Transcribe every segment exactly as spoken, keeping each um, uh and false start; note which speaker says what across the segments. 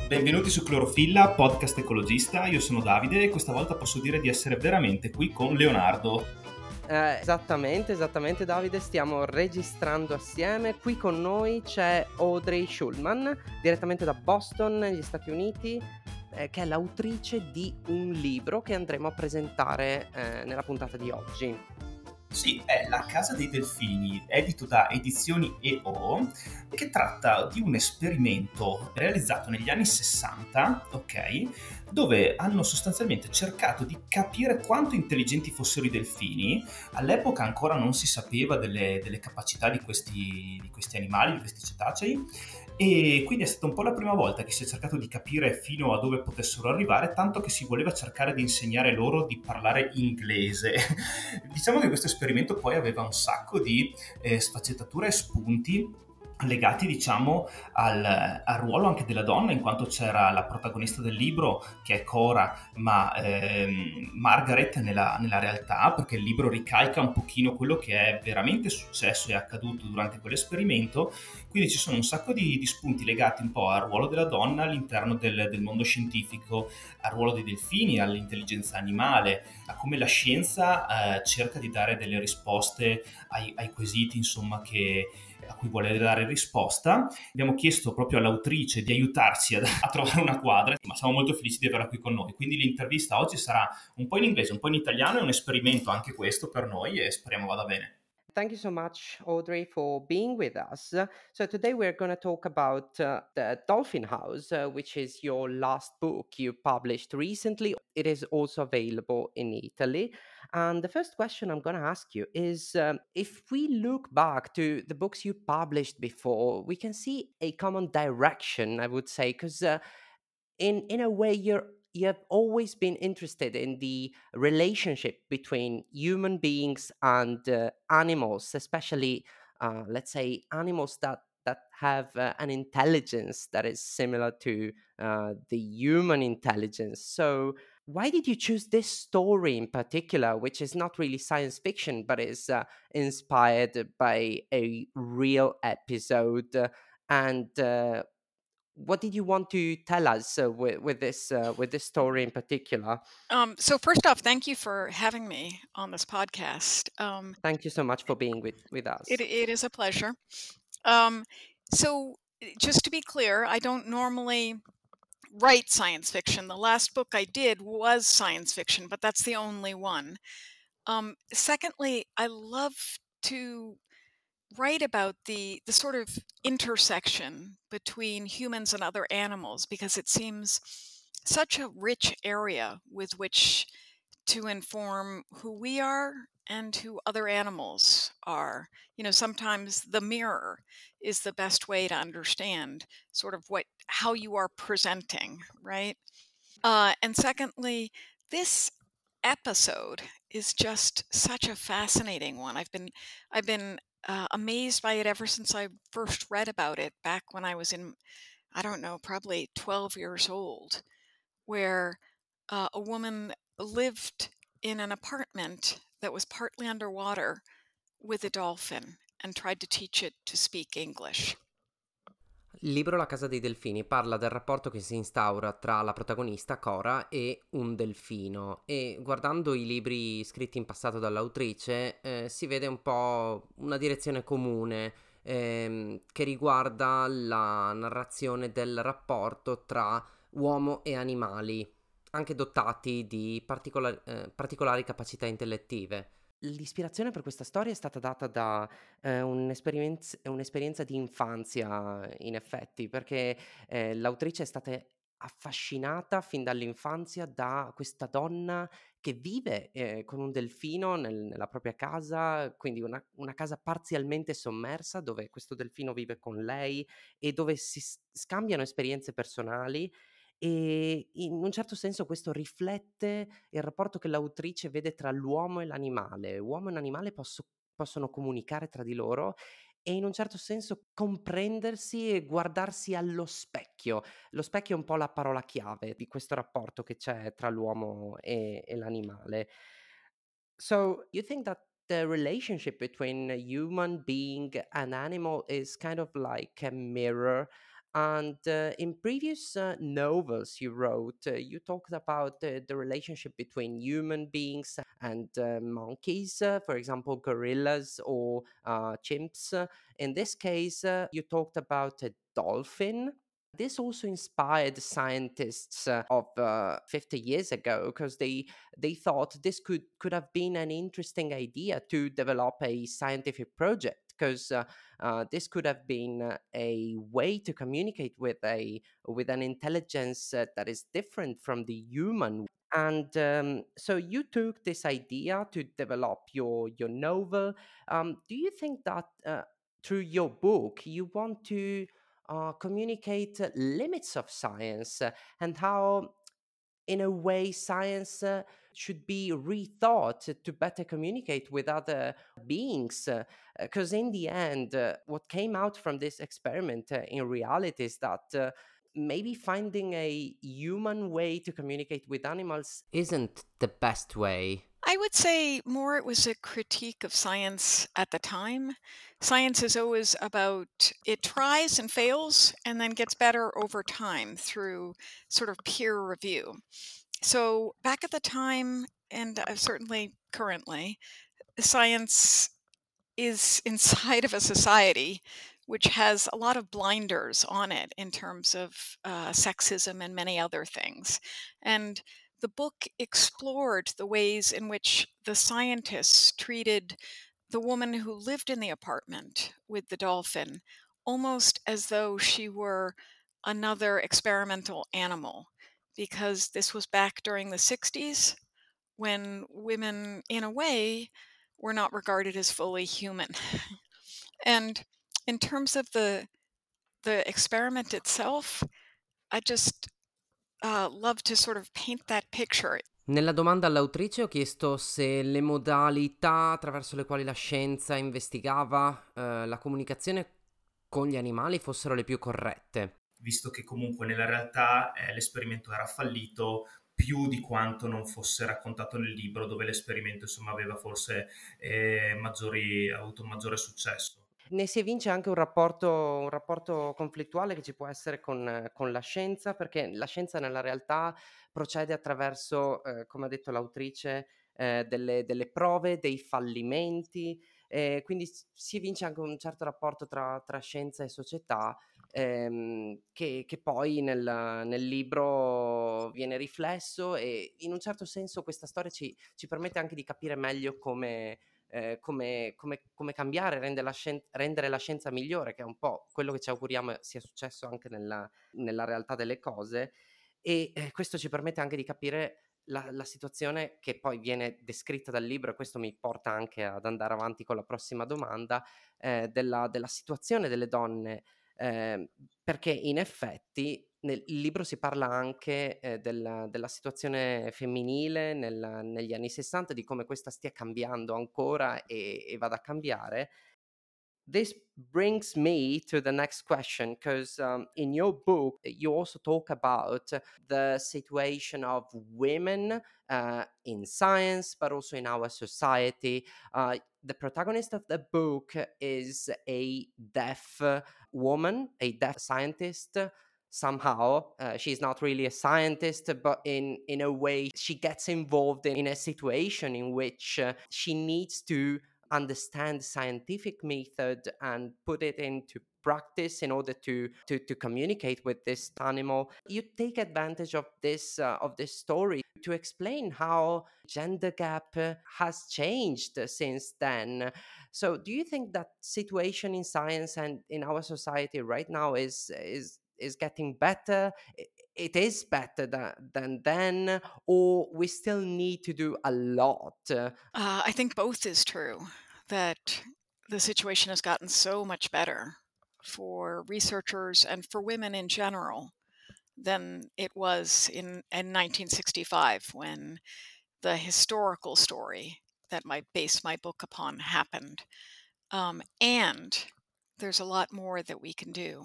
Speaker 1: Benvenuti su Clorofilla, podcast ecologista. Io sono Davide e questa volta posso dire di essere veramente qui con Leonardo.
Speaker 2: Eh, esattamente, esattamente Davide, stiamo registrando assieme. Qui con noi c'è Audrey Schulman, direttamente da Boston, negli Stati Uniti, eh, che è l'autrice di un libro che andremo a presentare eh, nella puntata di oggi.
Speaker 1: Sì, è La Casa dei Delfini, edito da Edizioni E O, che tratta di un esperimento realizzato negli anni sessanta, ok? Dove hanno sostanzialmente cercato di capire quanto intelligenti fossero i delfini. All'epoca ancora non si sapeva delle, delle capacità di questi, di questi animali, di questi cetacei, e quindi è stata un po' la prima volta che si è cercato di capire fino a dove potessero arrivare, tanto che si voleva cercare di insegnare loro di parlare inglese. Diciamo che questo esperimento poi aveva un sacco di eh, sfaccettature e spunti legati, diciamo, al, al ruolo anche della donna, in quanto c'era la protagonista del libro che è Cora, ma ehm, Margaret nella, nella realtà, perché il libro ricalca un pochino quello che è veramente successo e accaduto durante quell'esperimento. Quindi ci sono un sacco di, di spunti legati un po' al ruolo della donna all'interno del, del mondo scientifico, al ruolo dei delfini, all'intelligenza animale, a come la scienza eh, cerca di dare delle risposte ai, ai quesiti, insomma, che, a cui vuole dare risposta. Abbiamo chiesto proprio all'autrice di aiutarci a, a trovare una quadra, ma siamo molto felici di averla qui con noi. Quindi l'intervista oggi sarà un po' in inglese, un po' in italiano, è un esperimento anche questo per noi e speriamo vada bene.
Speaker 2: Thank you so much, Audrey, for being with us. So, today we're going to talk about uh, The Dolphin House, uh, which is your last book you published recently. It is also available in Italy. And the first question I'm going to ask you is um, if we look back to the books you published before, we can see a common direction, I would say, because uh, in in a way you're you have always been interested in the relationship between human beings and uh, animals, especially uh, let's say animals that that have uh, an intelligence that is similar to uh, the human intelligence. So why did you choose this story in particular, which is not really science fiction but is uh, inspired by a real episode? Uh, and uh, what did you want to tell us uh, with, with this uh, with this story in particular?
Speaker 3: Um, so first off, thank you for having me on this podcast. Um,
Speaker 2: Thank you so much for being with with
Speaker 3: it,
Speaker 2: us.
Speaker 3: it is a pleasure. Um, so just to be clear, I don't normally write science fiction. The last book I did was science fiction, but that's the only one. Um, secondly, I love to write about the the sort of intersection between humans and other animals because it seems such a rich area with which to inform who we are and who other animals are. You know, sometimes the mirror is the best way to understand sort of what how you are presenting, right? Uh, and secondly, this episode is just such a fascinating one. I've been I've been uh, amazed by it ever since I first read about it back when I was in, I don't know, probably twelve years old, where uh, a woman lived in an apartment that was partly underwater with a dolphin and tried to teach it to speak English.
Speaker 2: Il libro La casa dei delfini parla del rapporto che si instaura tra la protagonista Cora e un delfino e guardando i libri scritti in passato dall'autrice eh, si vede un po' una direzione comune ehm, che riguarda la narrazione del rapporto tra uomo e animali, anche dotati di particola- eh, particolari capacità intellettive. L'ispirazione per questa storia è stata data da eh, un'esperienz- un'esperienza di infanzia, in effetti, perché eh, l'autrice è stata affascinata fin dall'infanzia da questa donna che vive eh, con un delfino nel- nella propria casa, quindi una, una casa parzialmente sommersa dove questo delfino vive con lei e dove si s- scambiano esperienze personali. E in un certo senso questo riflette il rapporto che l'autrice vede tra l'uomo e l'animale. Uomo e animale posso- possono comunicare tra di loro e in un certo senso comprendersi e guardarsi allo specchio. Lo specchio è un po' la parola chiave di questo rapporto che c'è tra l'uomo e, e l'animale. So, you think that the relationship between a human being and animal is kind of like a mirror, And uh, in previous uh, novels you wrote, uh, you talked about uh, the relationship between human beings and uh, monkeys, uh, for example, gorillas or uh, chimps. Uh, In this case, uh, you talked about a dolphin. This also inspired scientists uh, of uh, fifty years ago, because they they thought this could could have been an interesting idea to develop a scientific project, because uh, uh, this could have been uh, a way to communicate with a with an intelligence uh, that is different from the human. And um, so you took this idea to develop your your novel. Um, do you think that uh, through your book you want to uh, communicate uh, limits of science, uh, and how in a way science uh, should be rethought to better communicate with other beings, because in the end uh, what came out from this experiment uh, in reality is that uh, maybe finding a human way to communicate with animals isn't the best way.
Speaker 3: I would say more it was a critique of science at the time. Science is always about it tries and fails and then gets better over time through sort of peer review. So back at the time, and uh, certainly currently, science is inside of a society which has a lot of blinders on it in terms of uh, sexism and many other things. And the book explored the ways in which the scientists treated the woman who lived in the apartment with the dolphin almost as though she were another experimental animal, because this was back during the sixties when women, in a way, were not regarded as fully human. And in terms of the the experiment itself, I just uh, love to sort of paint that picture.
Speaker 2: Nella domanda all'autrice ho chiesto se le modalità attraverso le quali la scienza investigava eh, la comunicazione con gli animali fossero le più corrette.
Speaker 1: Visto che comunque nella realtà eh, l'esperimento era fallito più di quanto non fosse raccontato nel libro, dove l'esperimento insomma aveva forse eh, maggiori, avuto un maggiore successo.
Speaker 2: Ne si evince anche un rapporto, un rapporto conflittuale che ci può essere con, con la scienza, perché la scienza nella realtà procede attraverso, eh, come ha detto l'autrice, eh, delle, delle prove, dei fallimenti, eh, quindi s- si evince anche un certo rapporto tra, tra scienza e società, ehm, che, che poi nel, nel libro viene riflesso, e in un certo senso questa storia ci, ci permette anche di capire meglio come eh, come, come- come cambiare, rende la scien- rendere la scienza migliore, che è un po' quello che ci auguriamo sia successo anche nella, nella realtà delle cose. E eh, questo ci permette anche di capire la, la situazione che poi viene descritta dal libro, e questo mi porta anche ad andare avanti con la prossima domanda, eh, della, della situazione delle donne, eh, perché in effetti nel il libro si parla anche eh, della, della situazione femminile nel- negli anni sessanta, di come questa stia cambiando ancora e, e vada a cambiare. This brings me to the next question, because um, in your book you also talk about the situation of women uh, in science, but also in our society. Uh, the protagonist of the book is a deaf uh, woman, a deaf scientist. Somehow, uh, she's not really a scientist, but in in a way, she gets involved in, in a situation in which uh, she needs to understand scientific method and put it into practice in order to to to communicate with this animal. You take advantage of this uh, of this story to explain how gender gap uh, has changed since then. So do you think that situation in science and in our society right now is is is getting better? I- it is better than, than then, or we still need to do a lot?
Speaker 3: Uh, I think both is true, that the situation has gotten so much better for researchers and for women in general than it was in, in nineteen sixty-five, when the historical story that I base my book upon happened. Um, and there's a lot more that we can do.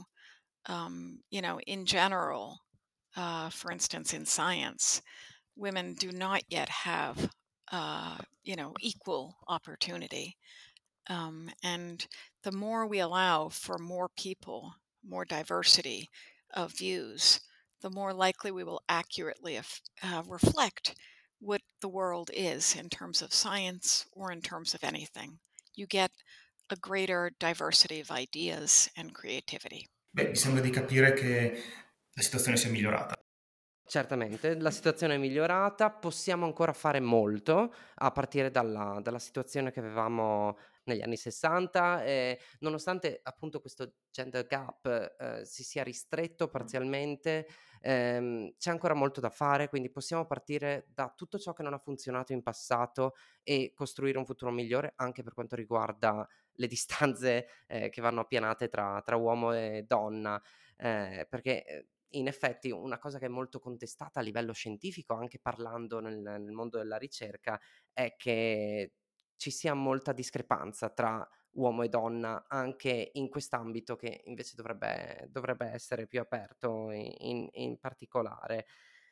Speaker 3: Um, you know, in general, uh, for instance, in science, women do not yet have, uh, you know, equal opportunity. Um, and the more we allow for more people, more diversity of views, the more likely we will accurately af- uh, reflect what the world is in terms of science or in terms of anything. You get a greater diversity of ideas and creativity.
Speaker 1: Beh, mi sembra di capire che la situazione sia migliorata.
Speaker 2: Certamente, la situazione è migliorata, possiamo ancora fare molto a partire dalla dalla situazione che avevamo negli anni 'sessanta e nonostante appunto questo gender gap, ehm, si sia ristretto parzialmente, ehm, c'è ancora molto da fare, quindi possiamo partire da tutto ciò che non ha funzionato in passato e costruire un futuro migliore anche per quanto riguarda le distanze, ehm, che vanno appianate tra tra uomo e donna, ehm, perché, ehm, in effetti una cosa che è molto contestata a livello scientifico, anche parlando nel nel mondo della ricerca, è che ci sia molta discrepanza tra uomo e donna anche in quest'ambito che invece dovrebbe dovrebbe essere più aperto i in in particolare.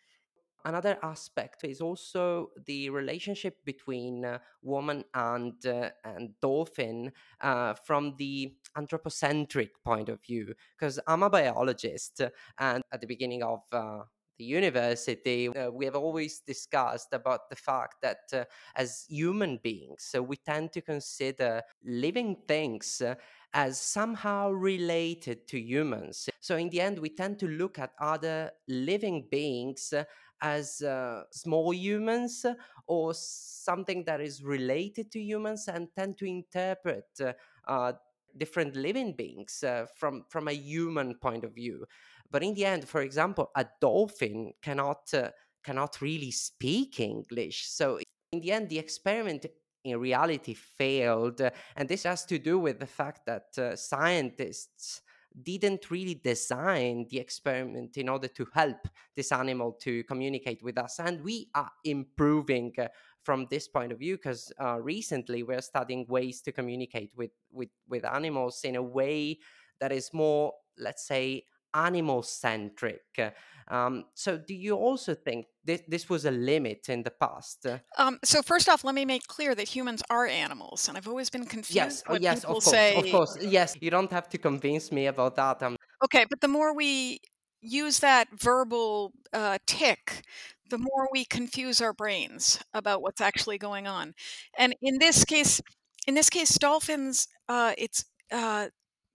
Speaker 2: Another aspect is also the relationship between uh, woman and uh, and dolphin uh, from the anthropocentric point of view. Because I'm a biologist, and at the beginning of uh, the university, uh, we have always discussed about the fact that uh, as human beings, so we tend to consider living things. Uh, as somehow related to humans. So, in the end, we tend to look at other living beings uh, as uh, small humans or something that is related to humans and tend to interpret uh, uh, different living beings uh, from from a human point of view. But in the end, for example, a dolphin cannot uh, cannot really speak English. So in the end, the experiment in reality failed, uh, and this has to do with the fact that uh, scientists didn't really design the experiment in order to help this animal to communicate with us. And we are improving uh, from this point of view because uh, recently we're studying ways to communicate with, with, with animals in a way that is more, let's say, animal centric. Um, so, do you also think this, this was a limit in the past?
Speaker 3: Um, so first off, let me make clear that humans are animals, and I've always been
Speaker 2: Yes,
Speaker 3: confused
Speaker 2: oh,
Speaker 3: when
Speaker 2: yes,
Speaker 3: people
Speaker 2: of course, of
Speaker 3: say,
Speaker 2: course. Yes, you don't have to convince me about that. Um,
Speaker 3: okay, but the more we use that verbal uh, tick, the more we confuse our brains about what's actually going on. And in this case, in this case, dolphins, uh, it's uh,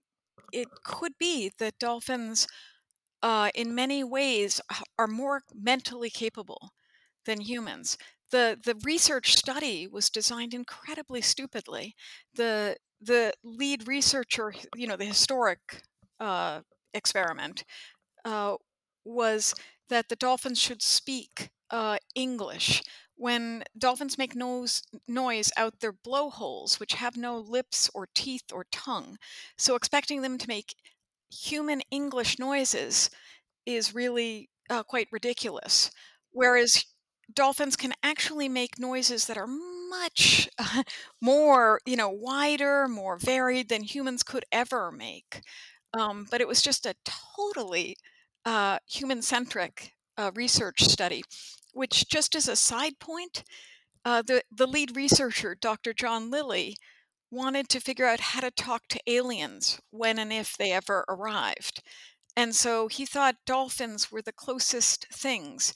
Speaker 3: it could be that dolphins, uh, in many ways, h- are more mentally capable than humans. The the research study was designed incredibly stupidly. The the lead researcher, you know, the historic uh, experiment uh, was that the dolphins should speak uh, English. When dolphins make nose, noise out their blowholes, which have no lips or teeth or tongue, so expecting them to make human English noises is really uh, quite ridiculous. Whereas dolphins can actually make noises that are much uh, more, you know, wider, more varied than humans could ever make. Um, but it was just a totally uh, human centric uh, research study, which, just as a side point, uh, the, the lead researcher, Doctor John Lilly, wanted to figure out how to talk to aliens when and if they ever arrived. And so he thought dolphins were the closest things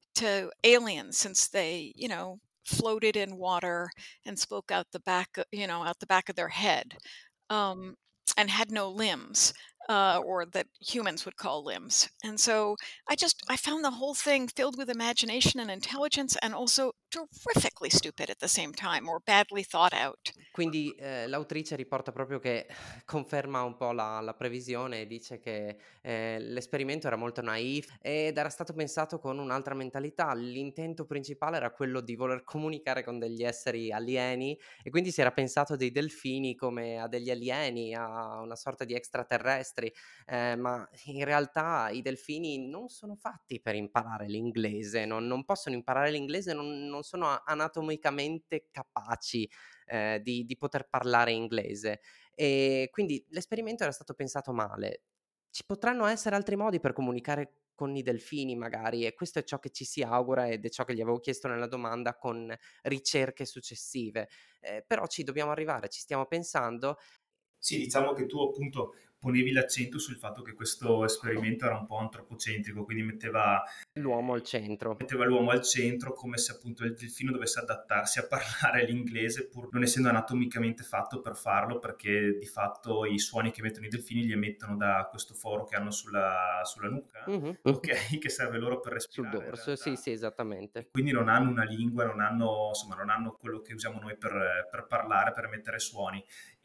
Speaker 3: to aliens since they, you know, floated in water and spoke out the back, o- you know, out the back of their head, um, and had no limbs, uh, or that humans would call limbs. And so I just I found the whole thing filled with imagination and intelligence, and also terrifically stupid at the same time, or badly thought out.
Speaker 2: Quindi, ehm, l'autrice riporta proprio che conferma un po' la la previsione e dice che, ehm, l'esperimento era molto naif ed era stato pensato con un'altra mentalità. L'intento principale era quello di voler comunicare con degli esseri alieni e quindi si era pensato dei delfini come a degli alieni, a una sorta di extraterrestri, ehm, ma in realtà i delfini non sono fatti per imparare l'inglese, non non possono imparare l'inglese, non non sono a anatomicamente capaci ehm, di di poter parlare inglese. E quindi l'esperimento era stato pensato male. Ci potranno essere altri modi per comunicare con i delfini magari e questo è ciò che ci si augura ed è ciò che gli avevo chiesto nella domanda con ricerche successive. Ehm, però ci dobbiamo arrivare, ci stiamo pensando.
Speaker 1: Sì, diciamo che tu appunto ponevi l'accento sul fatto che questo esperimento era un po' antropocentrico, quindi metteva
Speaker 2: L'uomo al centro.
Speaker 1: metteva l'uomo al centro, come se appunto il delfino dovesse adattarsi a parlare l'inglese pur non essendo anatomicamente fatto per farlo, perché di fatto i suoni che emettono i delfini li emettono da questo foro che hanno sulla, sulla nuca,
Speaker 2: Mh-mh.
Speaker 1: ok, che serve loro per
Speaker 2: Sul
Speaker 1: respirare in
Speaker 2: dorso, sì,
Speaker 1: realtà.
Speaker 2: sì,
Speaker 1: E
Speaker 2: esattamente.
Speaker 1: quindi non hanno una lingua, non hanno, insomma, non hanno quello che usiamo noi per, per parlare, per emettere suoni.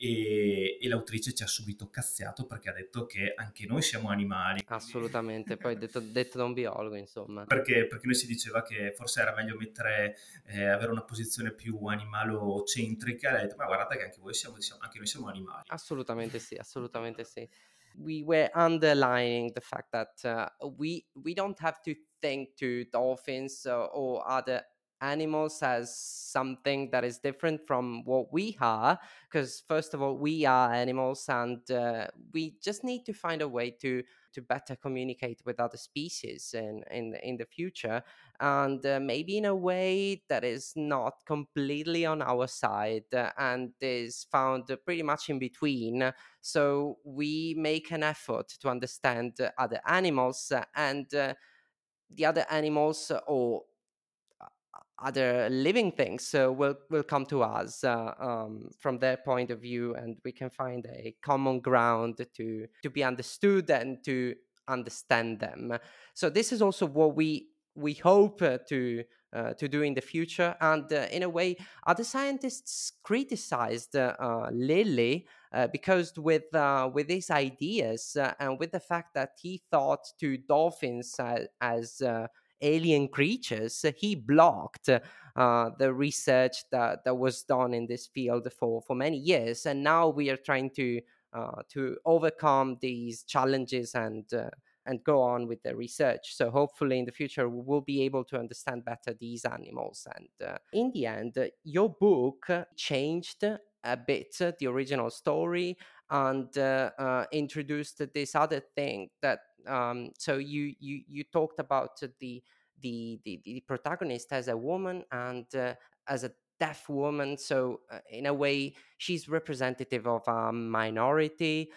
Speaker 1: E, e l'autrice ci ha subito cazziato perché ha detto che anche noi siamo animali, quindi
Speaker 2: Assolutamente. Poi detto detto da un biologo, insomma.
Speaker 1: perché, perché noi si diceva che forse era meglio mettere, eh, avere una posizione più animalocentrica, e ha detto, ma guardate che anche voi siamo, siamo- anche noi siamo animali.
Speaker 2: Assolutamente sì, assolutamente sì. We were underlining the fact that uh, we we don't have to think to dolphins uh, or other animals as something that is different from what we are, because first of all we are animals, and uh, we just need to find a way to to better communicate with other species in in in the future, and uh, maybe in a way that is not completely on our side, uh, and is found uh, pretty much in between. So we make an effort to understand uh, other animals, uh, and uh, the other animals, uh, or uh, other living things uh, will will come to us uh, um, from their point of view, and we can find a common ground to to be understood and to understand them. So this is also what we we hope uh, to uh, to do in the future. And uh, in a way, other scientists criticized uh, uh, Lilly uh, because with uh, with his ideas uh, and with the fact that he thought to dolphins uh, as uh, alien creatures, he blocked uh, the research that, that was done in this field for, for many years. And now we are trying to uh, to overcome these challenges and uh, and go on with the research. So hopefully in the future we will be able to understand better these animals. And uh, in the end, uh, your book changed a bit uh, the original story, and uh, uh, introduced this other thing that um, so you you you talked about the the the, the protagonist as a woman, and uh, as a deaf woman. So uh, in a way she's representative of a minority,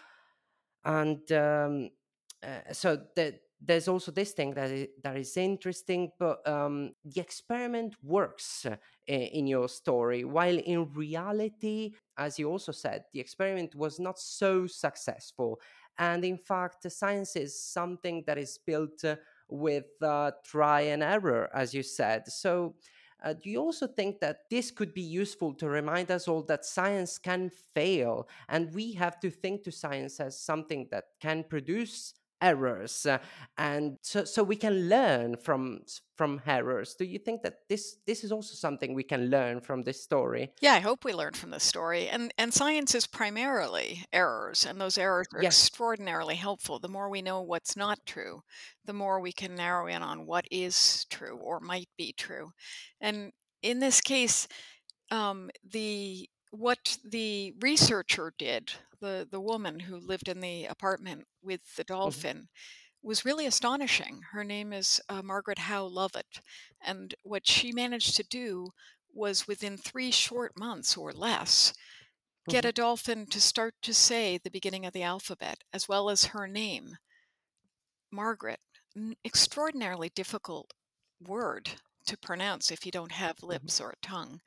Speaker 2: and um, uh, so the, there's also this thing that is, that is interesting, but um, the experiment works uh, i- in your story, while in reality, as you also said, the experiment was not so successful. And in fact, science is something that is built uh, with uh, try and error, as you said. So uh, do you also think that this could be useful to remind us all that science can fail, and we have to think to science as something that can produce errors, uh, and so, so we can learn from from errors? Do you think that this this is also something we can learn from this story?
Speaker 3: Yeah, I hope we learn from this story. And and science is primarily errors, and those errors are
Speaker 2: Yes.
Speaker 3: extraordinarily helpful. The more we know what's not true, the more we can narrow in on what is true or might be true. And in this case, um, the what the researcher did, the the woman who lived in the apartment with the
Speaker 2: Mhm,
Speaker 3: dolphin, was really astonishing. Her name is uh, Margaret Howe Lovett, and what she managed to do was within three short months or less get
Speaker 2: mhm,
Speaker 3: a dolphin to start to say the beginning of the alphabet as well as her name, Margaret. N- extraordinarily difficult word to pronounce if you don't have
Speaker 2: mhm.
Speaker 3: lips or a tongue.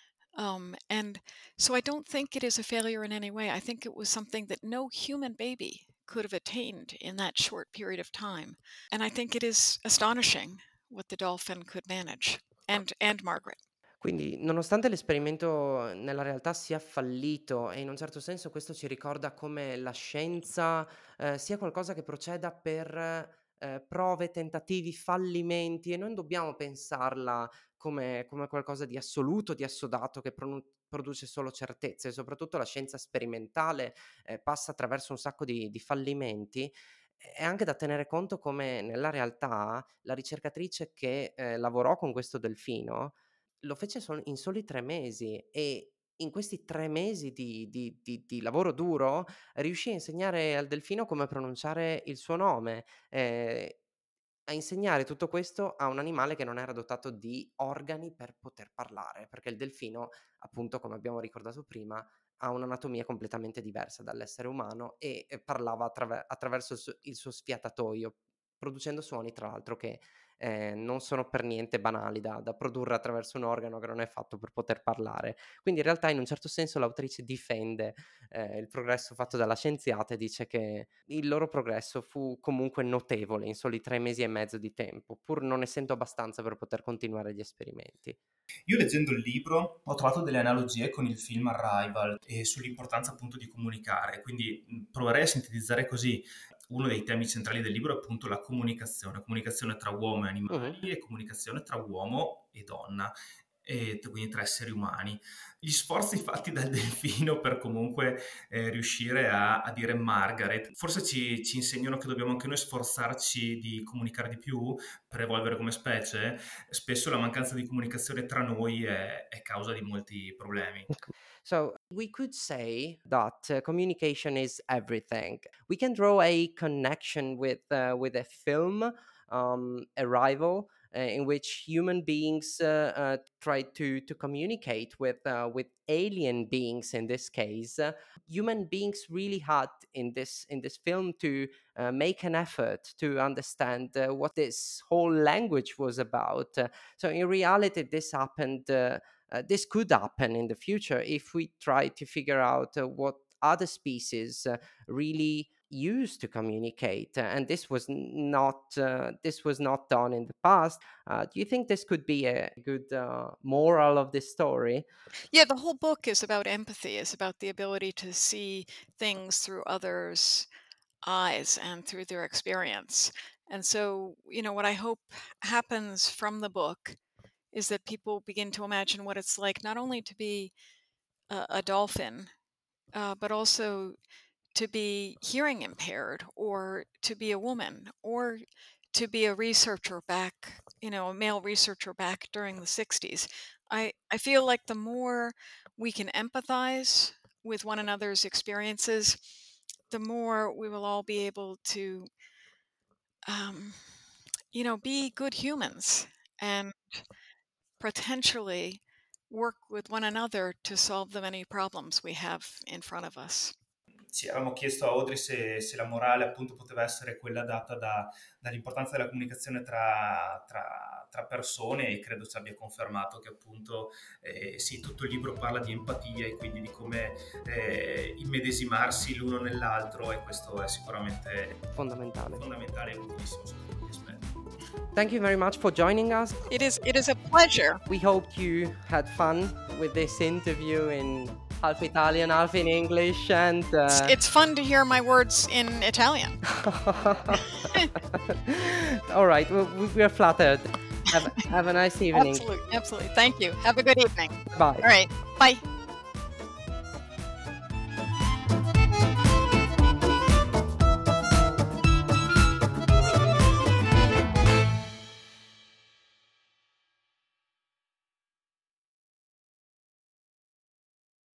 Speaker 3: Um, and so I don't think it is a failure in any way. I think it was something that no human baby could have attained in that short period of time. And I think it is astonishing what the dolphin could manage, and and Margaret.
Speaker 2: Quindi, nonostante l'esperimento nella realtà sia fallito, e in un certo senso questo ci ricorda come la scienza, ehm, sia qualcosa che proceda per, ehm, prove, tentativi, fallimenti, e non dobbiamo pensarla come come qualcosa di assoluto, di assodato, che pronu produce solo certezze. Soprattutto la scienza sperimentale, ehm, passa attraverso un sacco di di fallimenti. È anche da tenere conto come nella realtà la ricercatrice che, ehm, lavorò con questo delfino lo fece sol in soli tre mesi, e in questi tre mesi di di di di lavoro duro riuscì a insegnare al delfino come pronunciare il suo nome, ehm, a insegnare tutto questo a un animale che non era dotato di organi per poter parlare, perché il delfino appunto, come abbiamo ricordato prima, ha un'anatomia completamente diversa dall'essere umano e, e parlava attraver- attraverso il suo, il suo sfiatatoio, producendo suoni tra l'altro che eh, non sono per niente banali da, da produrre attraverso un organo che non è fatto per poter parlare. Quindi in realtà in un certo senso l'autrice difende eh, il progresso fatto dalla scienziata e dice che il loro progresso fu comunque notevole in soli tre mesi e mezzo di tempo, pur non essendo abbastanza per poter continuare gli esperimenti.
Speaker 1: Io leggendo il libro ho trovato delle analogie con il film Arrival e sull'importanza appunto di comunicare, quindi mh, proverei a sintetizzare così. Uno dei temi centrali del libro è appunto la comunicazione, comunicazione tra uomo e animali
Speaker 2: Mhm.
Speaker 1: e comunicazione tra uomo e donna, e t- quindi tra esseri umani. Gli sforzi fatti dal delfino per comunque eh, riuscire a, a dire Margaret, forse ci, ci insegnano che dobbiamo anche noi sforzarci di comunicare di più per evolvere come specie. Spesso la mancanza di comunicazione tra noi è, è causa di molti problemi.
Speaker 2: So we could say that uh, communication is everything. We can draw a connection with uh, with a film, um, Arrival, uh, in which human beings uh, uh, try to to communicate with uh, with alien beings. In this case, uh, human beings really had in this in this film to uh, make an effort to understand uh, what this whole language was about. Uh, so in reality, this happened. Uh, uh, this could happen in the future if we try to figure out uh, what other species uh, really use to communicate. Uh, and this was n- not uh, this was not done in the past. Uh, do you think this could be a good uh, moral of this story?
Speaker 3: Yeah, the whole book is about empathy, is about the ability to see things through others' eyes and through their experience. And so, you know, what I hope happens from the book is that people begin to imagine what it's like not only to be a, a dolphin, uh, but also to be hearing impaired, or to be a woman, or to be a researcher back, you know, a male researcher back during the sixties. I, I feel like the more we can empathize with one another's experiences, the more we will all be able to, um, you know, be good humans and potentially work with one another to solve the many problems we have in front of us.
Speaker 1: Ci avevamo chiesto a Audrey se, se la morale appunto poteva essere quella data da- dall'importanza della comunicazione tra, tra- tra persone, e credo ci abbia confermato che appunto eh, sì, tutto il libro parla di empatia e quindi di come eh, immedesimarsi l'uno nell'altro, e questo è sicuramente
Speaker 2: Fondamentale.
Speaker 1: fondamentale e utilissimo sotto tutti gli aspetti.
Speaker 2: Thank you very much for joining us.
Speaker 3: It is it is a pleasure.
Speaker 2: We hope you had fun with this interview in half Italian, half in English, and uh,
Speaker 3: It's, it's fun to hear my words in Italian.
Speaker 2: all right, well, we, we are flattered. Have, have a nice evening.
Speaker 3: Absolutely, absolutely. Thank you. Have a good evening.
Speaker 2: Bye.
Speaker 3: All right. Bye.